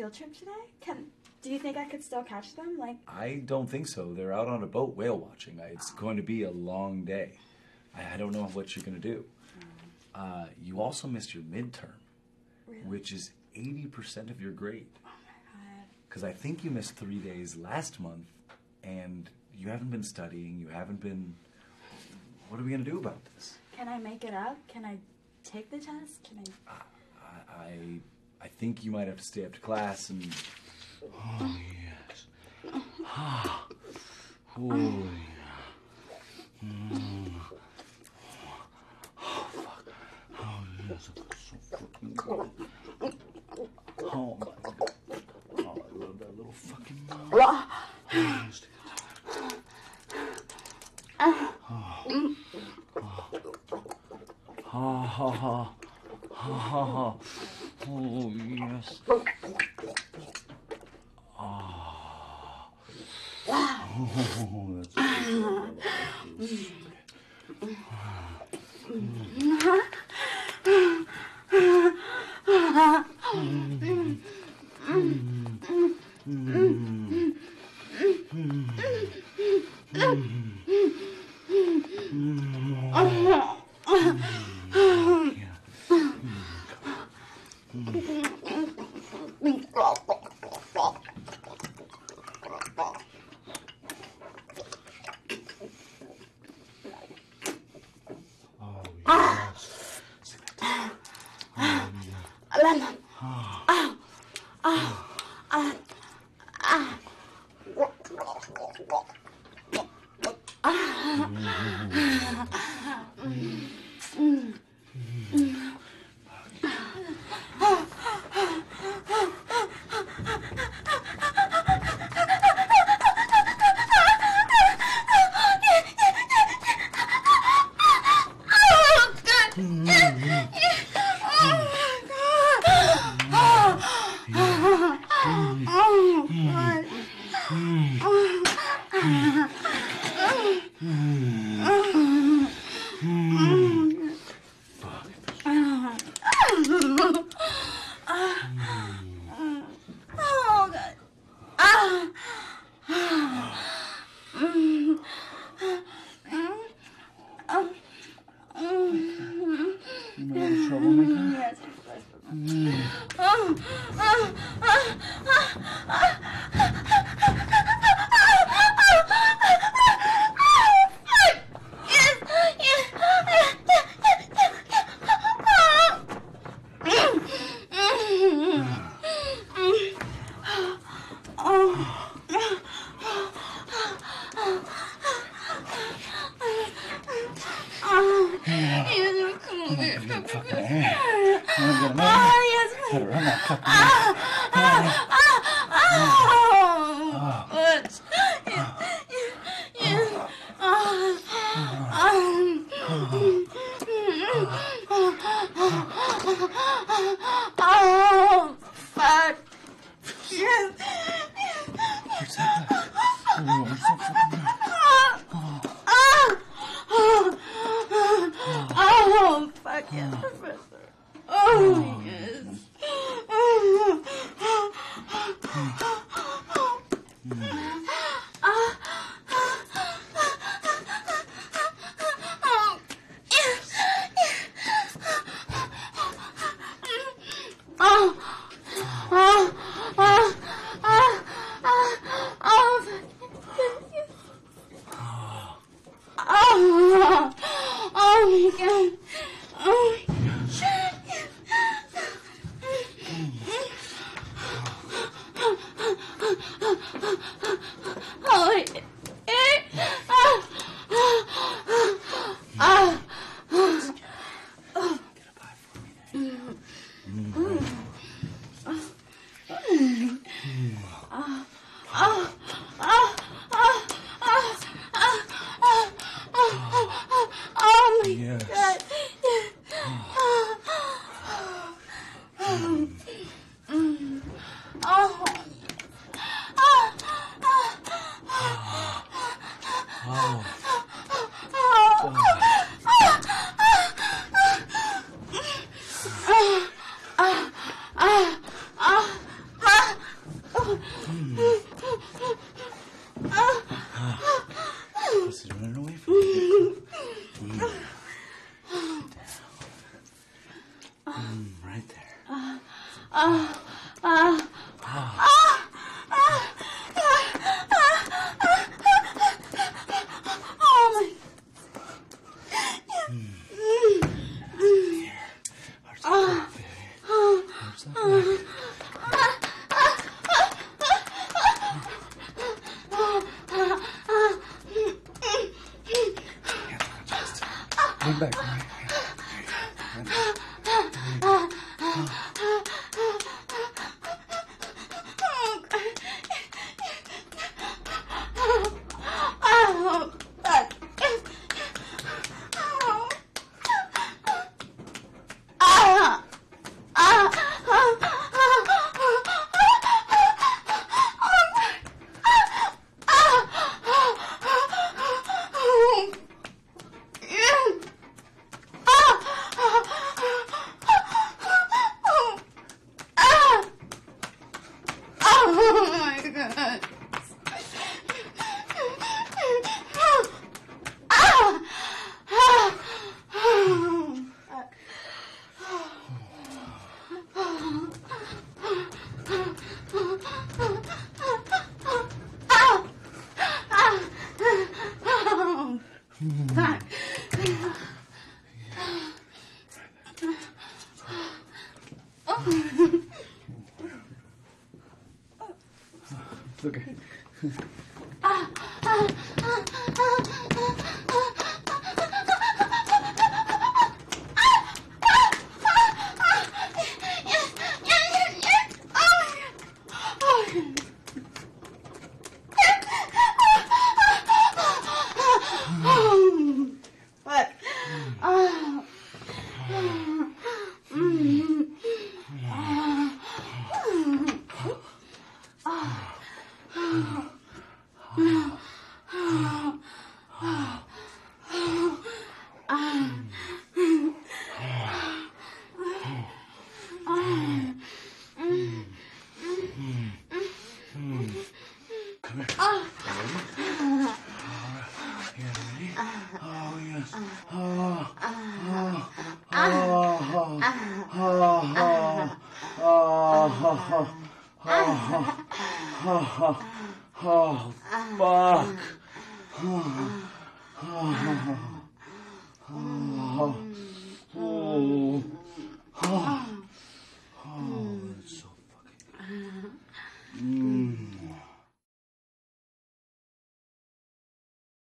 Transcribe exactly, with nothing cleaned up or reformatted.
field trip today? Can do you think I could still catch them? Like I don't think so. They're out on a boat whale watching. It's going to be a long day. I, I don't know what you're going to do. Uh, you also missed your midterm, really? which is eighty percent of your grade. Oh my god. Because I think you missed three days last month, and you haven't been studying. You haven't been. What are we going to do about this? Can I make it up? Can I take the test? Can I? I, I, I think you might have to stay up to class and. Oh yes. Ah. Oh yeah. Mm. Oh fuck. Oh yes. It was so fucking good. Oh my god. Oh, I love that little fucking mouth. Yes. Oh. Oh. Ha ha ha. Ha ha ha. Oh yes. Oh. Oh, that's good. supposed to run away from you. Mm. Mm, right there. Uh, uh, uh, uh, uh, oh my. Mm. Here. Heart's back, baby. Heart's back. Lean back, right? It's okay. What? Oh. Come here. Yeah, ready? Oh, yes. Oh, oh, oh, oh, oh, oh, oh, fuck. Oh, oh, oh.